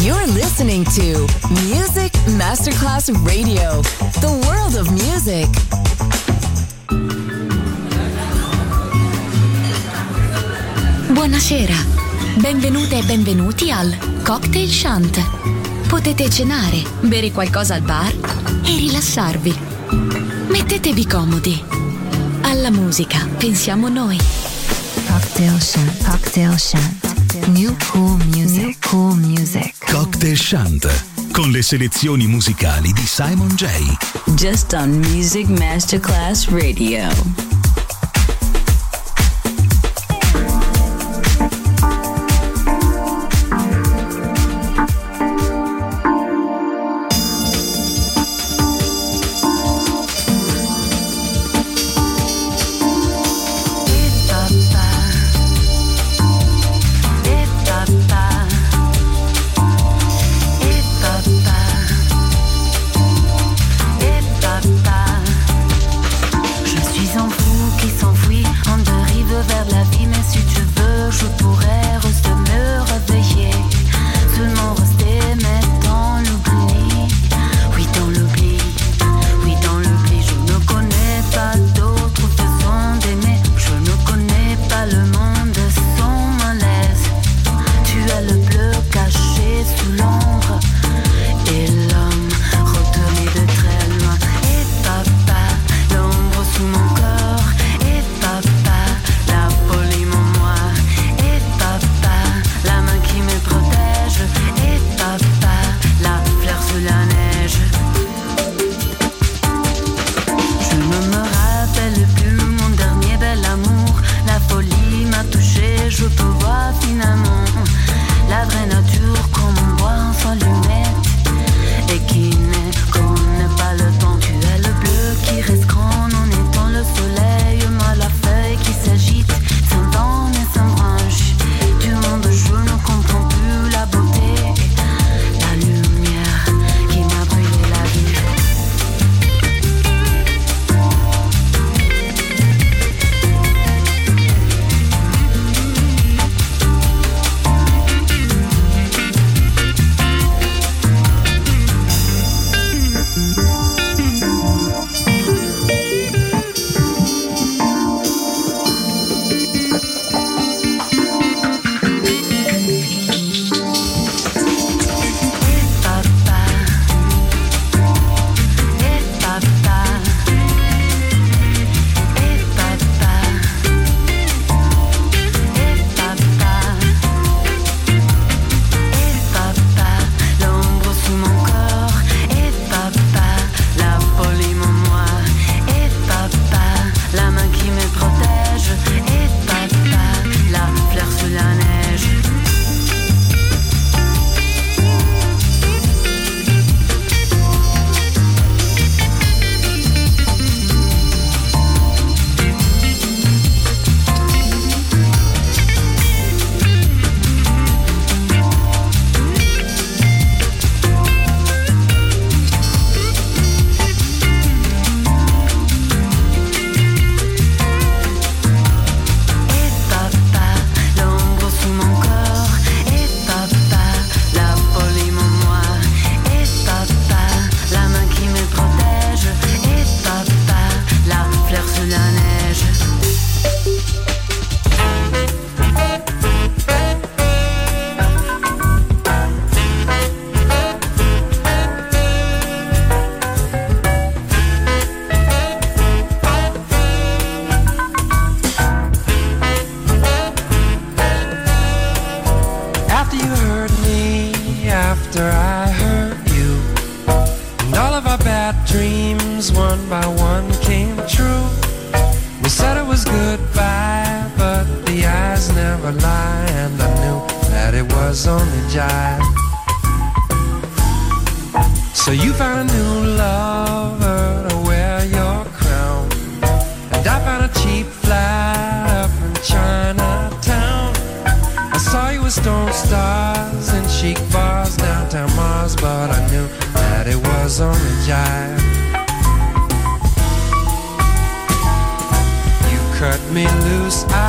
You're listening to Music Masterclass Radio, the world of music. Buonasera, benvenute e benvenuti al Cocktail Shant. Potete cenare, bere qualcosa al bar e rilassarvi. Mettetevi comodi. Alla musica pensiamo noi. Cocktail Shant, Cocktail Shant. New cool music, new cool music. Cocktail Shant, con le selezioni musicali di Simon J. Just on Music Masterclass Radio.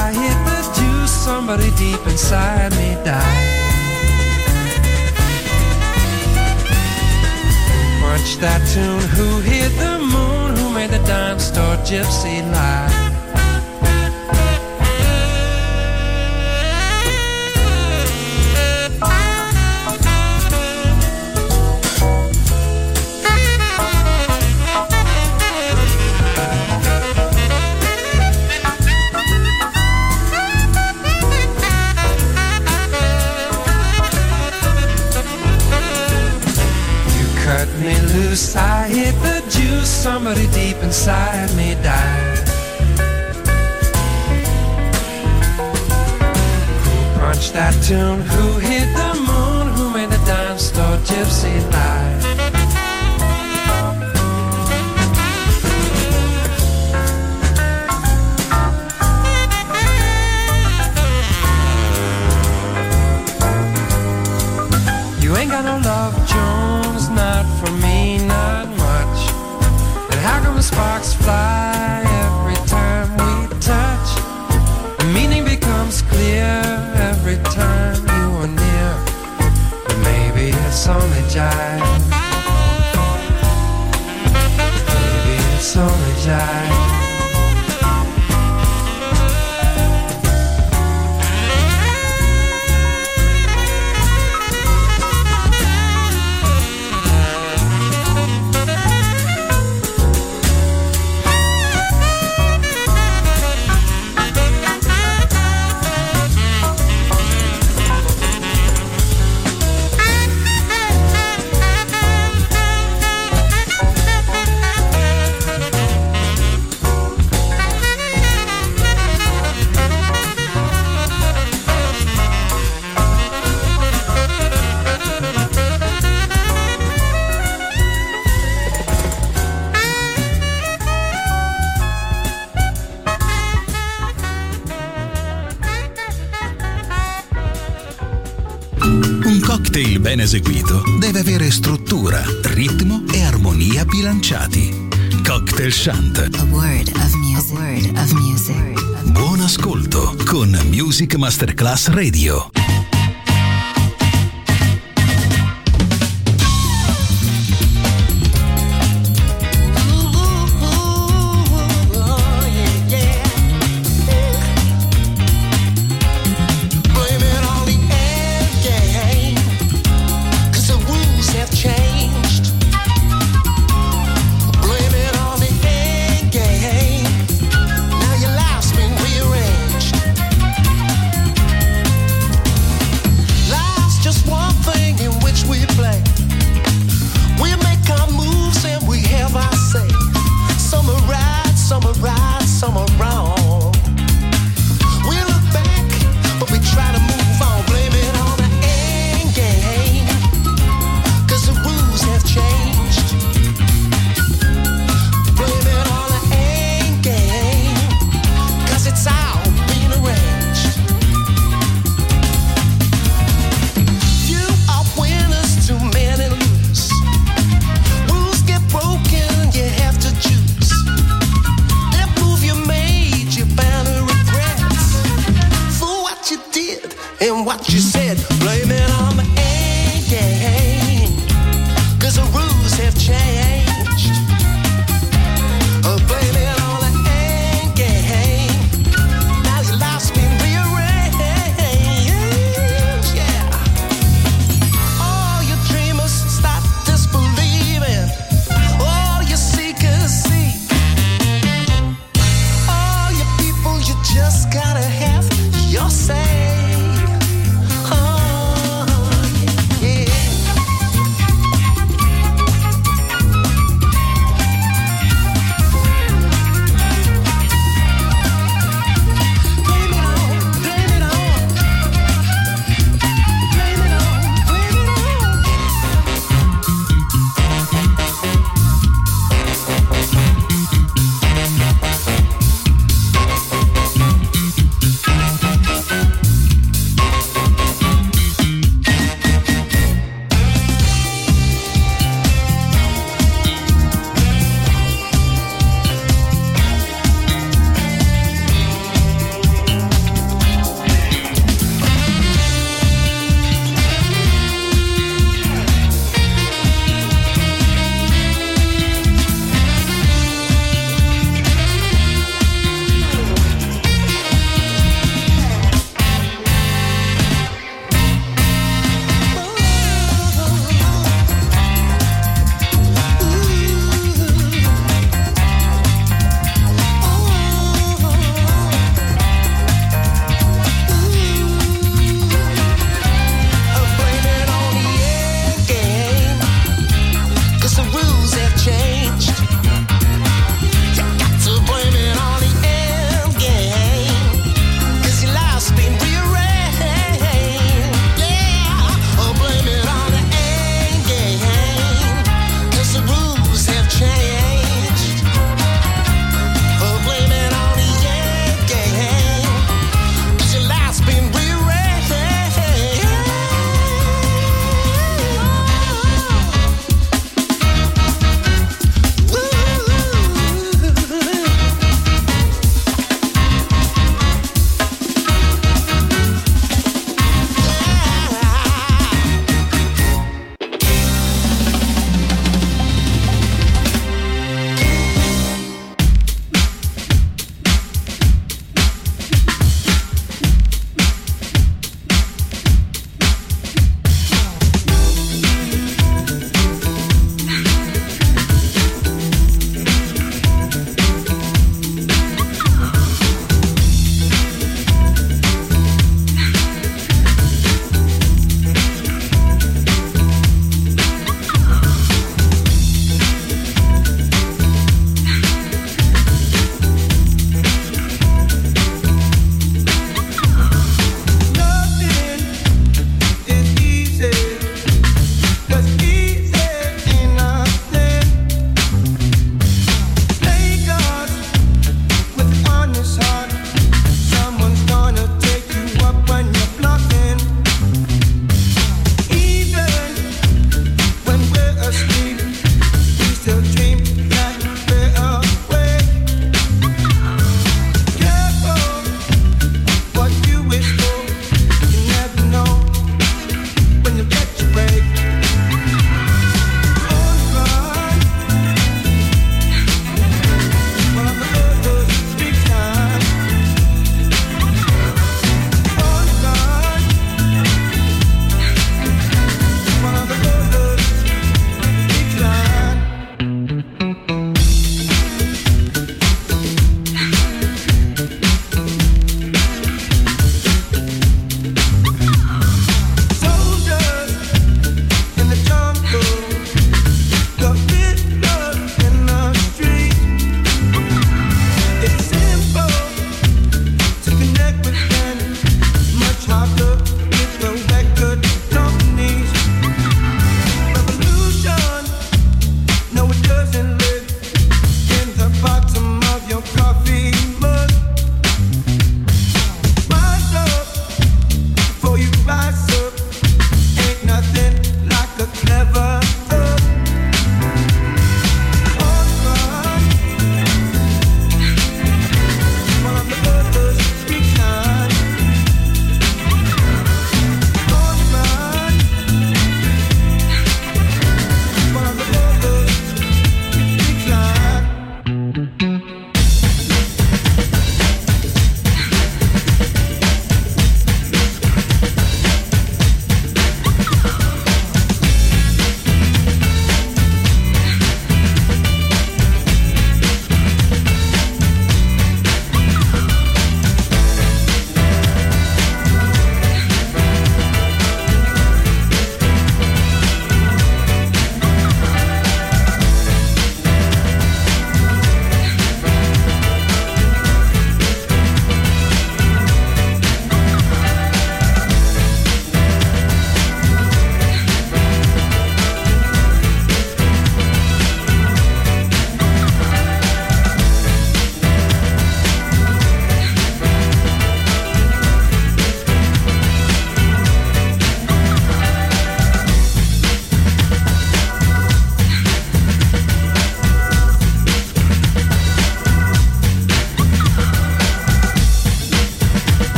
Somebody deep inside me died. that tune? Who hit the moon? Who made the dime store gypsy lie? Me loose, I hit the juice, somebody deep inside me died. Who punched that tune? Who hit the moon? Who made the dime store gypsy lie? You ain't got no love, Jones, not for me, not much. And how come the sparks fly every time we touch? The meaning becomes clear every time you are near. But maybe it's only jive. Maybe it's only jive. cocktail ben eseguito deve avere struttura, ritmo e armonia bilanciati. Cocktail Chant. A word of music. A word of music. Buon ascolto con Music Masterclass Radio.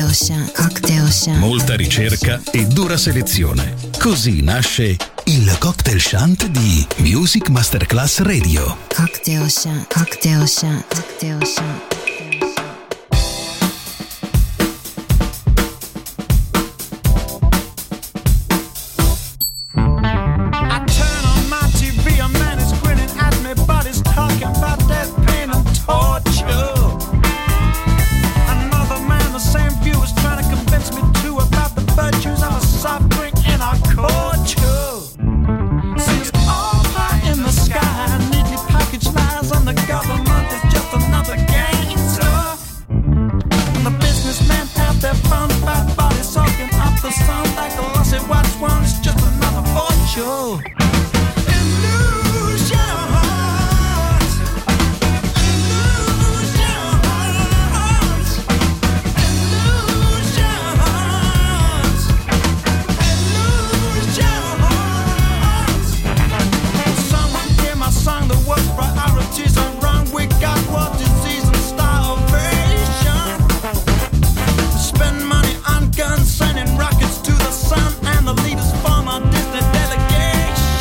Cocktail Shant. Molta ricerca e dura selezione. Così nasce il Cocktail Shant di Music Masterclass Radio. Cocktail Shant. Cocktail Shant. Cocktail Shant. Sending rockets to the sun, and the leaders form a distant delegation.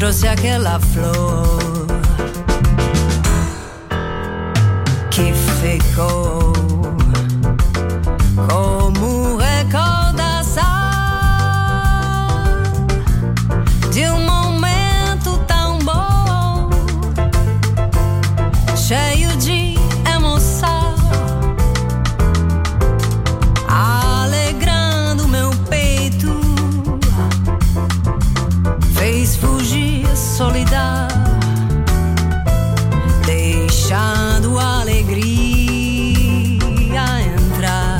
trouxe aquela flor que ficou como recordação de um momento tão bom, cheio de emoção, alegrando meu peito, fez fugir a solidão, deixando a alegria entrar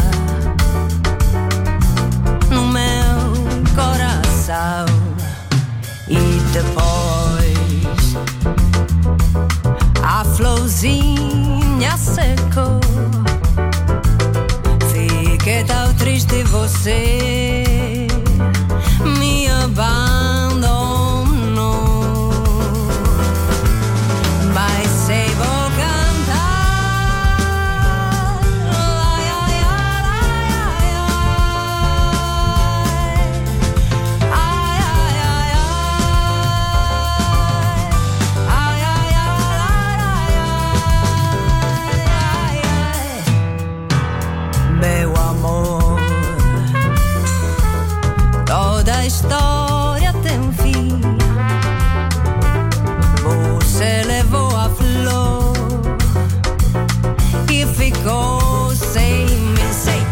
no meu coração. E depois a florzinha secou, fiquei tão triste, você me abandonou. Mas sei vou cantar, ai, ai, ai, ai, ai, ai, ai, ai, ai, meu amor, toda a história tem fim. Você levou a flor e ficou sem me sei.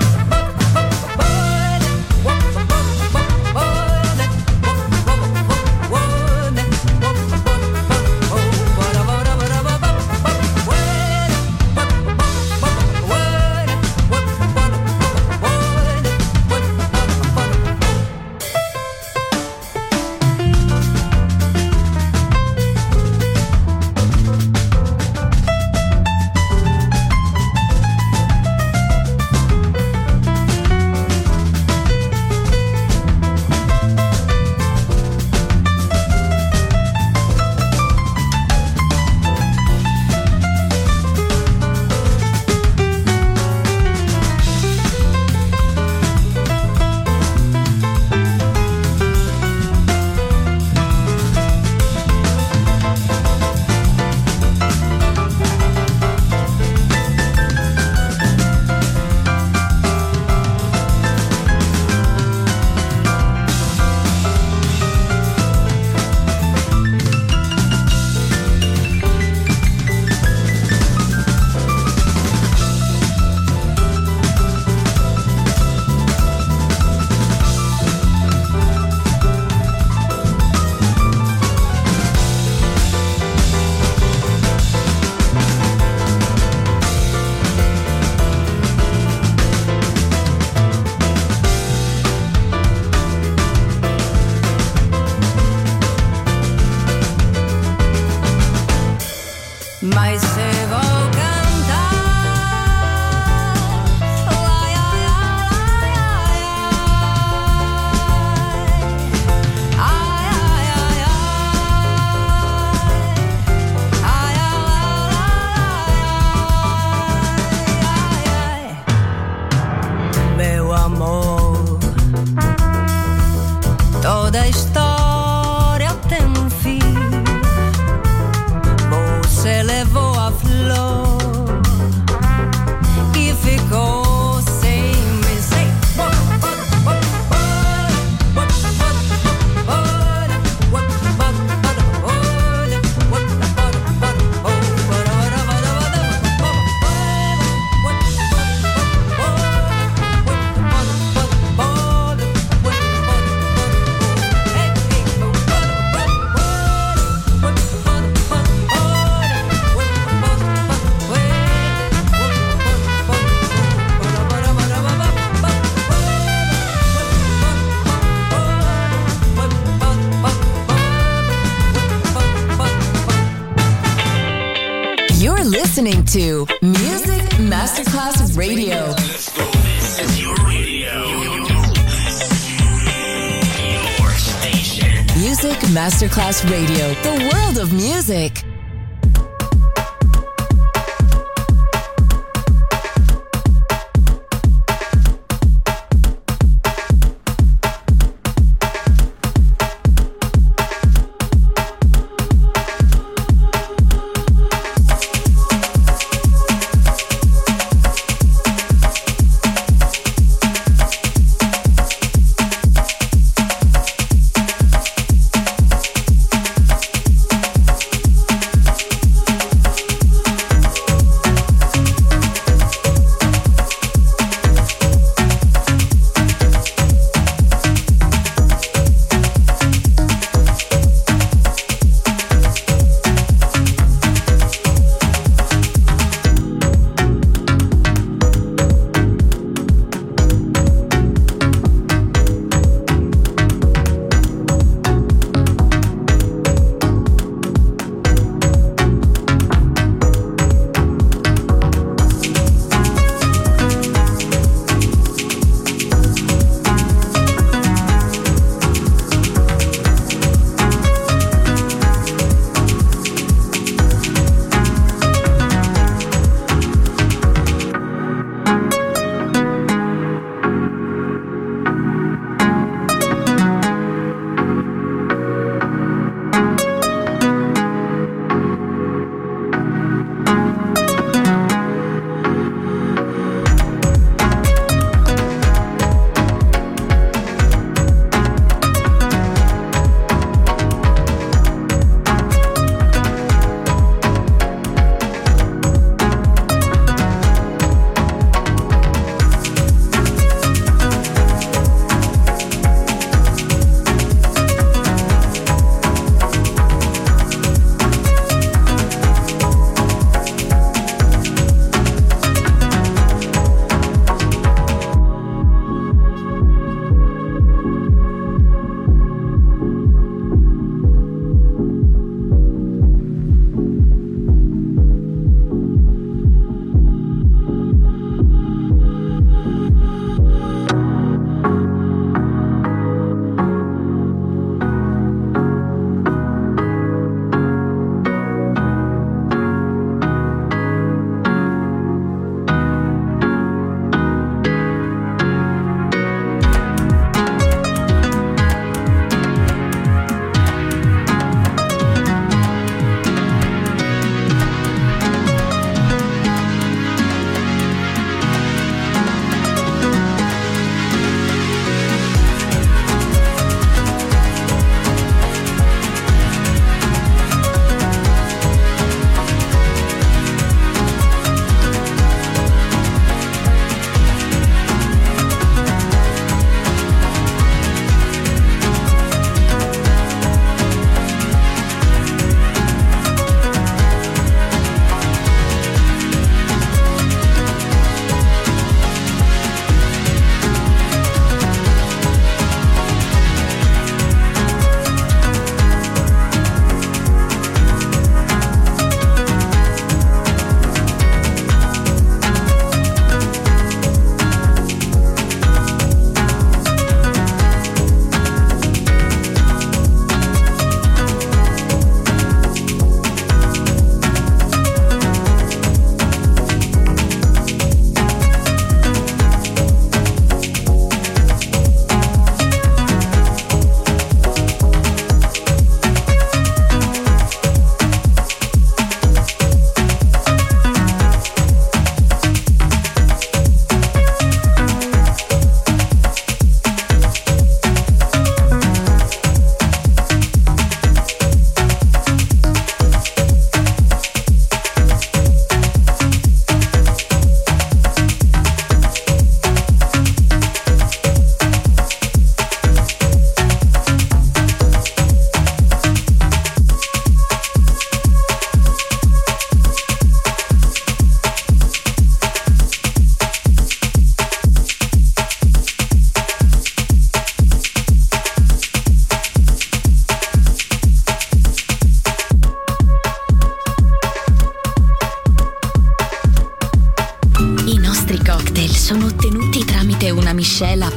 Mas se vou cantar, ai, ai, ai, ai, ai, ai, ai, meu amor, toda a história tem um fim. Você levou a flor e ficou sem me sei. You're listening to Music Masterclass Radio. This is your radio. Your station. Music Masterclass Radio. The world of music.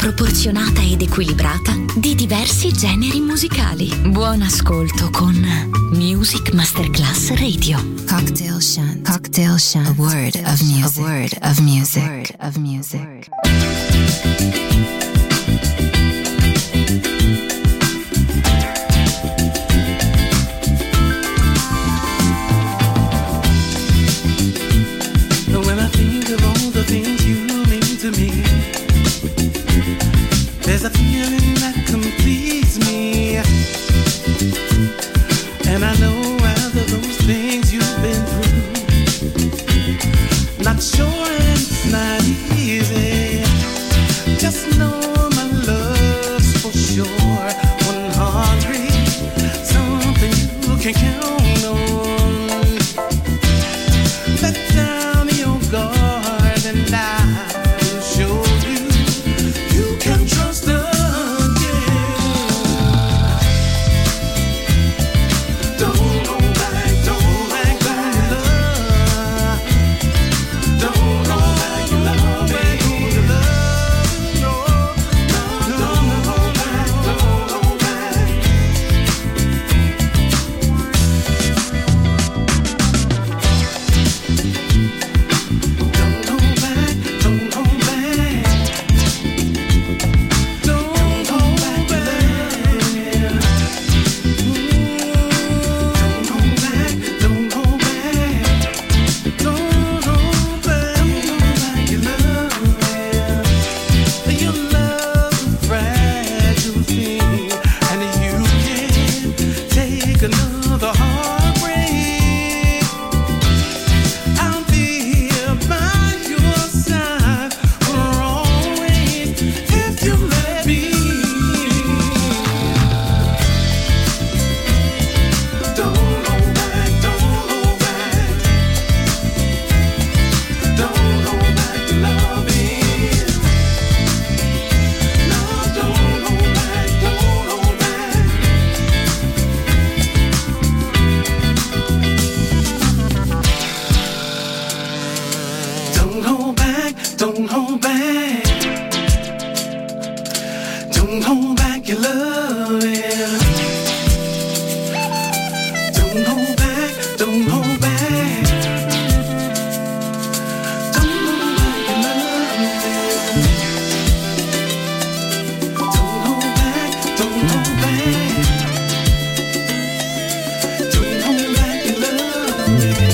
proporzionata ed equilibrata di diversi generi musicali. Buon ascolto con Music Masterclass Radio. Cocktail Shant. Cocktail Shant. A word of music. A word of music. A word of music. When I think of all the things you mean to me, there's a feeling that completes me. And I know out of those things you've been through, not sure and it's not easy. Just know my love's for sure 100, something you can count on. Let down your guard and I will show you you can trust again. Don't go back, don't back on your love. Don't go back, your love, back on your love. No, don't go back, don't go back. Don't go back, don't go back. Don't go back there. Don't go back, don't go back. Don't go back, your love's a fragile thing, and you can't take another heartbreak. I'll be here by your side for always if you let me. Don't go back, don't go back. Don't go back to loving. No, don't go back, don't go back. Don't go back, don't go back. Don't go back, your loving. Don't go back, don't go back. Don't go back, your loving. Don't go back, don't go back. Don't go back, your loving.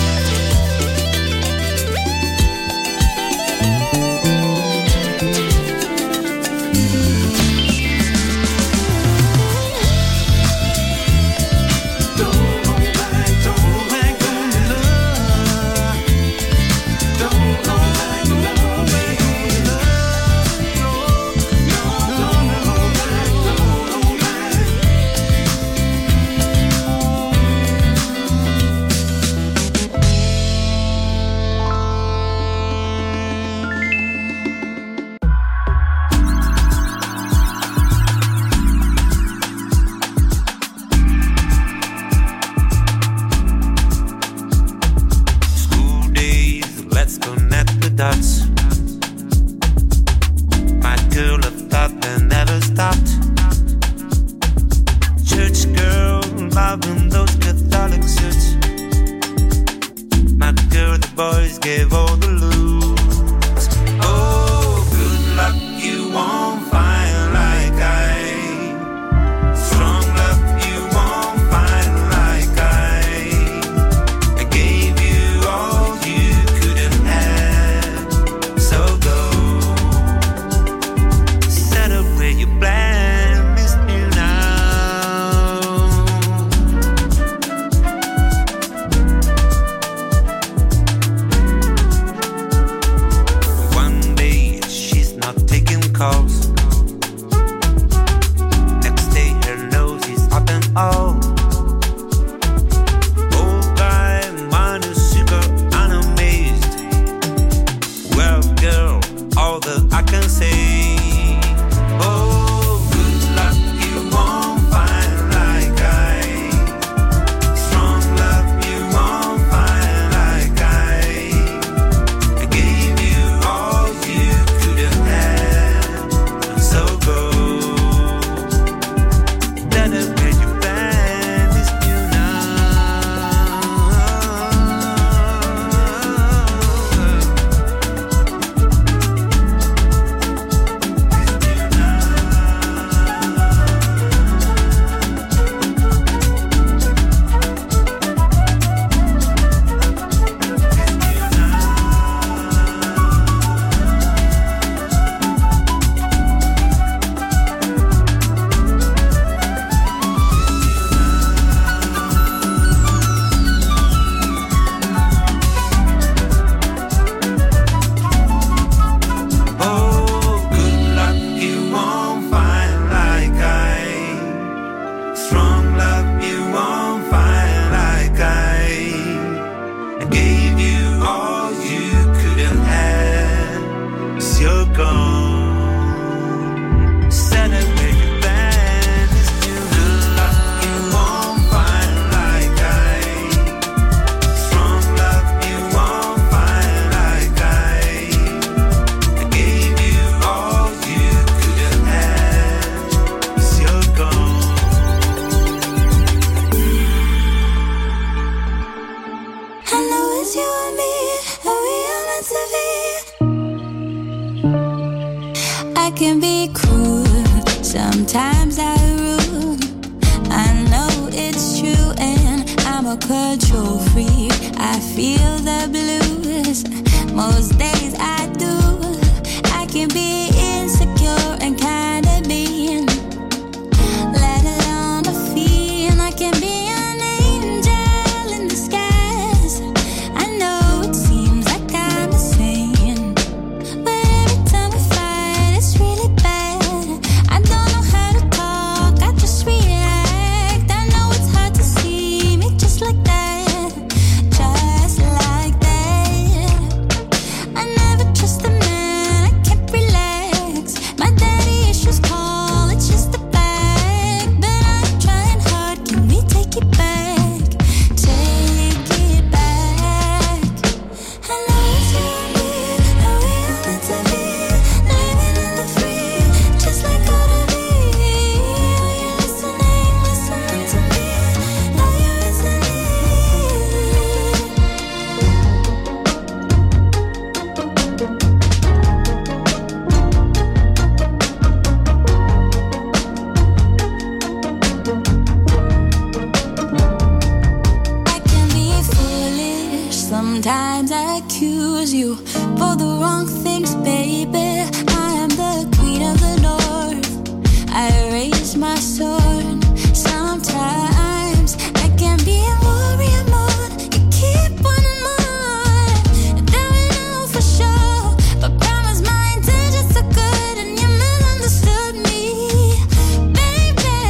Don't go back, don't go back on your love. Don't go back, don't go back on your love. No, don't go back, don't go back. School days, let's connect the dots. My girl of thought that never stopped. Church girl, loving those Catholic suits. My girl, the boys gave all the looks. Oh, good luck, you won't find like I. Strong love, you won't find like I gave you all you couldn't have. So go set up where you plan, miss me now. One day she's not taking calls. Next day her nose is up and all. Old guy, minus sugar, unamazed. Well, girl, all that I can say. Oh, good luck, you won't find like I. Strong love, you won't find like I gave you all you couldn't have. sometimes I rule. I know it's true and I'm a control freak. I feel the blues most days I do. I can be insecure and kinda mean, let alone a feel I can be an angel in disguise. I know it seems like I'm insane, but every time we fight it's really bad. I don't know how to talk, I just react. I know it's hard to see me just like that, just like that. I never trust a man, I can't relax. My daddy issues call, it's just a fact. But I'm trying hard, can we take it back? Take it back. I know it's you and me, and we are meant to be, living in the free, just like ought to be. Are you listening, listening to me? Are you listening? I can be foolish, sometimes I accuse you for the wrong things, baby. I am the queen of the north, I raise my sword. Sometimes I can be a warrior mode, you keep wanting more. That we know for sure, but promise my intentions are good and you misunderstood me, baby.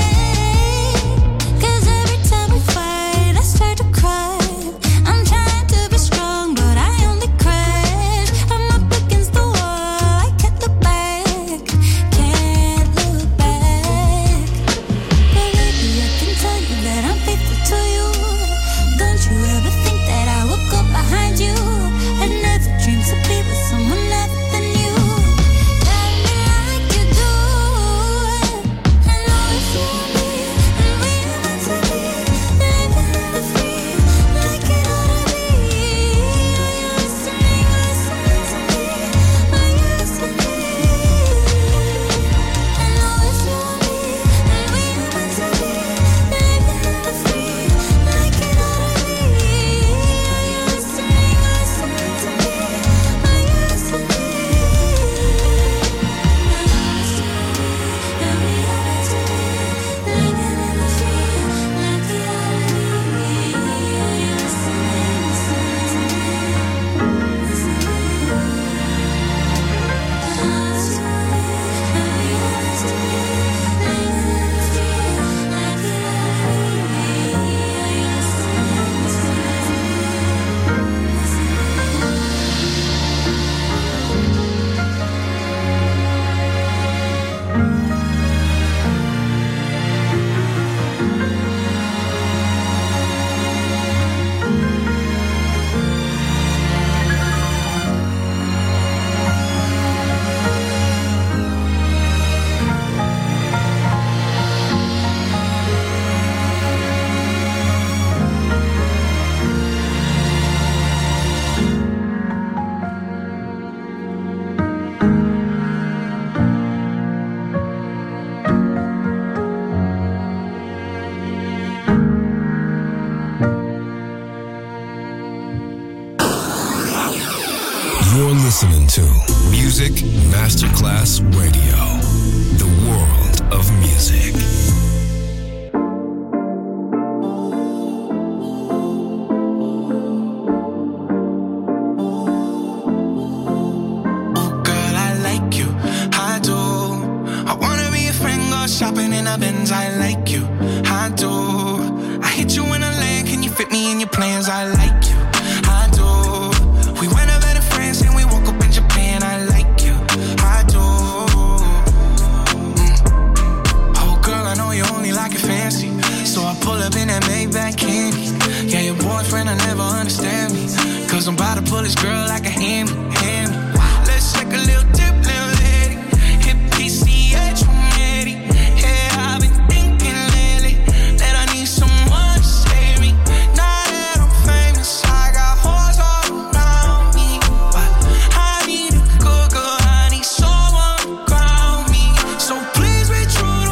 'Cause every time we fight I start to cry. I'm trying to be strong but I only crash. I'm up against the wall, I can't look back, can't look back. But baby, I can tell you that I'm faithful to you. Don't you ever think that I will go behind you? I never dreamed to be with someone other than you. Love me like you do. I know it's you and me, and we are meant to be, living in the free, like it ought to be. Are you listening, listening to me? Are you listening? I know it's you and me, and we are meant to be, living in the free, like it ought to be. Are you listening, listening to me? Are you listening? And we are meant to be, living in the free, like it ought to be. Are you listening, listening to me? You're listening to Music Masterclass Radio, the world of music. Oh girl, I like you, I do. I wanna be a friend, go shopping in a Benz. I like you, I do. I hit you in a lane, can you fit me in your plans? I like you, I do. We went over to France and we woke up in Japan. I like you, I do. Oh girl, I know you only like it fancy, so I pull up in that Maybach candy. Yeah, your boyfriend will never understand me, 'cause I'm about to pull this girl like a hammy. Let's take a little dip, little lady. Hit PCH from Eddie. Yeah, I've been thinking lately that I need someone to save me. Now that I'm famous, I got hoes all around me, but I need a good girl, I need someone to ground me. So please be true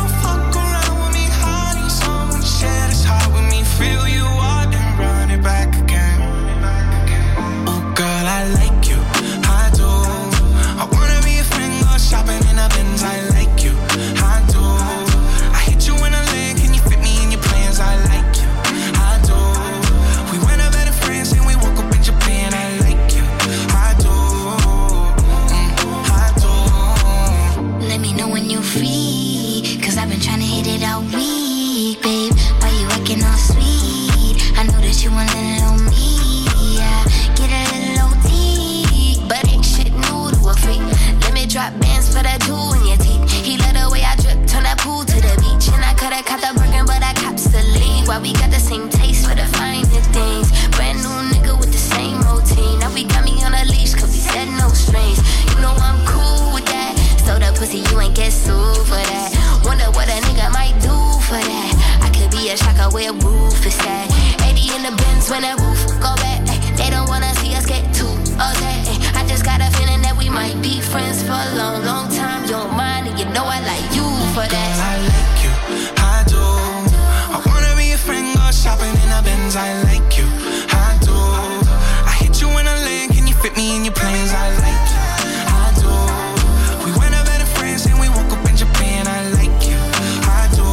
all week, babe. Why you acting all sweet? I know that you want a little on me, yeah. Get a little OT, but ain't shit new to a freak. Let me drop bands for that jewel in your teeth. He let the way I drip, turn that pool to the beach. And I coulda caught the Birkin, but I cops the lead. Why we got the same taste for the finer things? Brand new nigga with the same routine. Now we got me on a leash, cause we said no strings. You know I'm cool with that. So the pussy, you ain't get sued for that. Wonder what a nigga might do for that. I could be a shocker where roof is at. 80 in the Benz when that roof go back. They don't wanna see us get too upset. I just got a feeling that we might be friends for a long, long time. You don't mind, and you know I like you for that. Girl, I like you, I do. I wanna be a friend, go shopping in a Benz. I like you, I do. I hit you in a lane, can you fit me in your plans? I like you, I do. We went up better friends and we woke up in Japan. I like you, I do.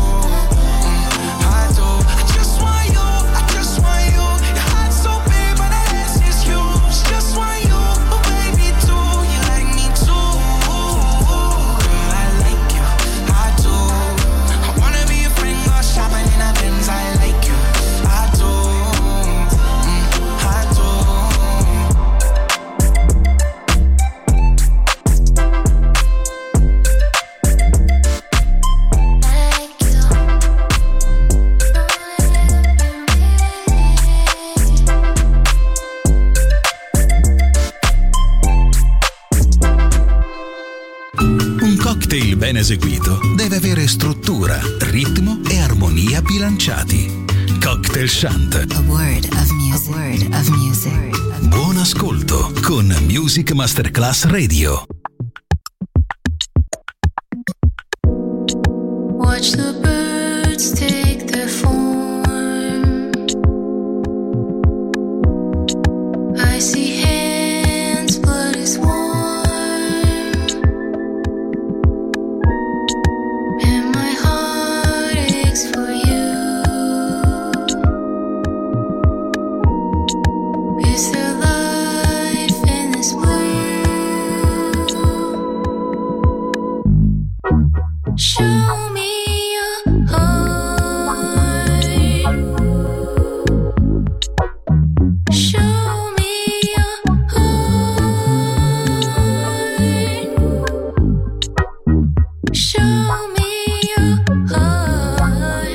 I do. I just want you, I just want you. Your heart's so big, but the ass is huge. Just want you, oh baby, too. You like me too. Girl, I like you, I do. I wanna be a friend, go shopping in a Benz. I like you, I do. I do. Un cocktail ben eseguito deve avere struttura, ritmo e armonia bilanciati. Cocktail Shant. A word of music. A word of music. Buon ascolto con Music Masterclass Radio. Watch the birds take their form. I see hands, blood is warm. And my heart aches for you. Is there life in this blue? Show me your heart. Show me your heart. Show me your heart.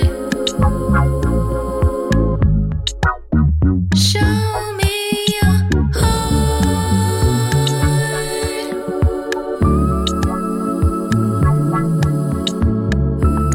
Show me your heart.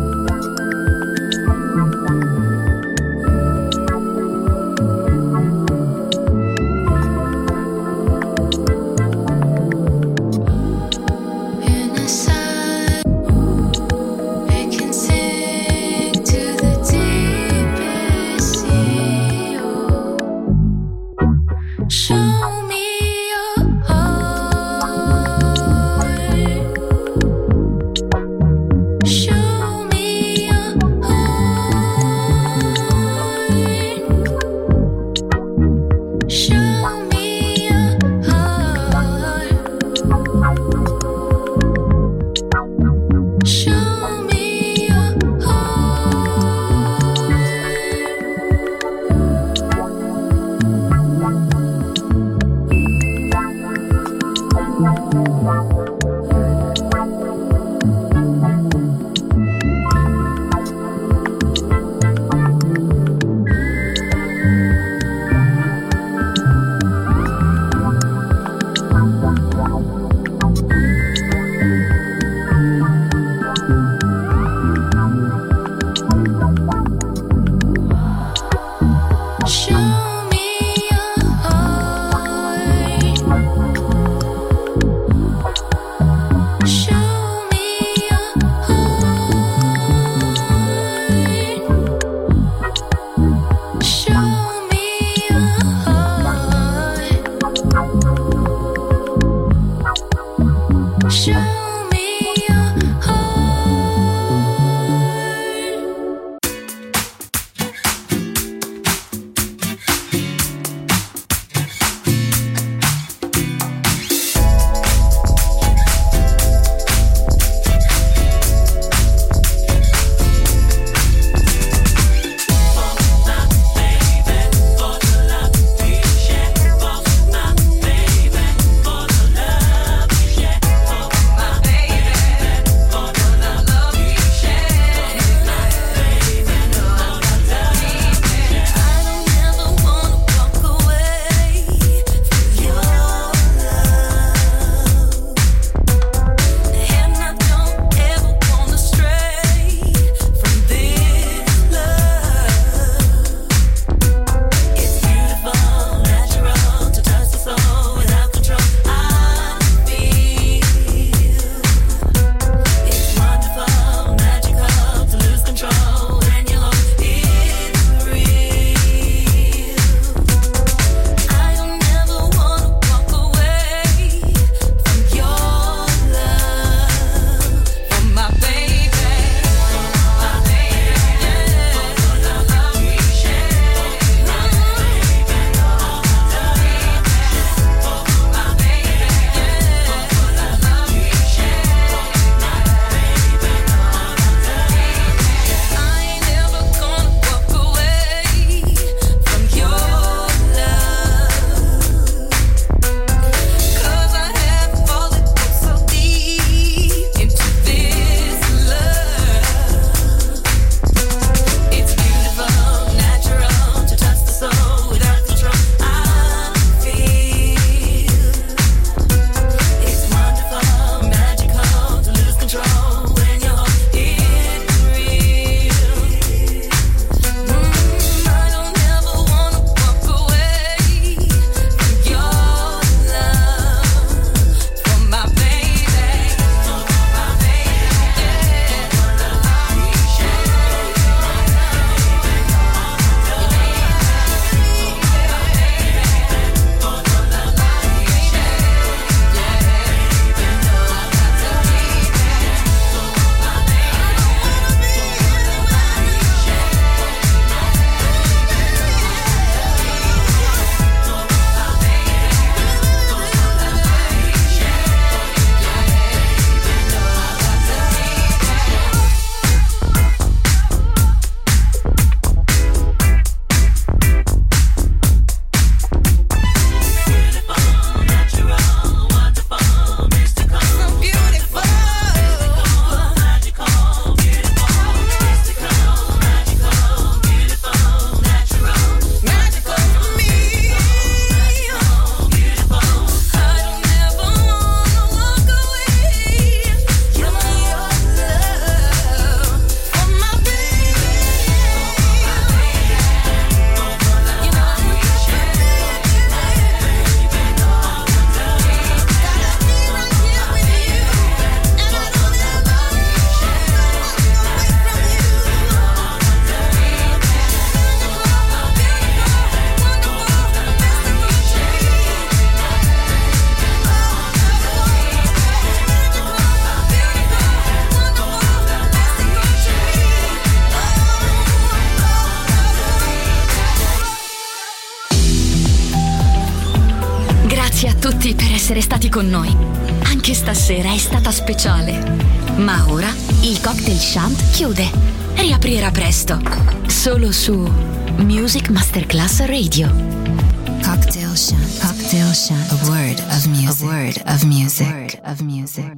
Grazie a tutti per essere stati con noi. Anche stasera è stata speciale. Ma ora il Cocktail Shant chiude. Riaprirà presto. Solo su Music Masterclass Radio. Cocktail Shant. Cocktail Shant. A word of music. A word of music.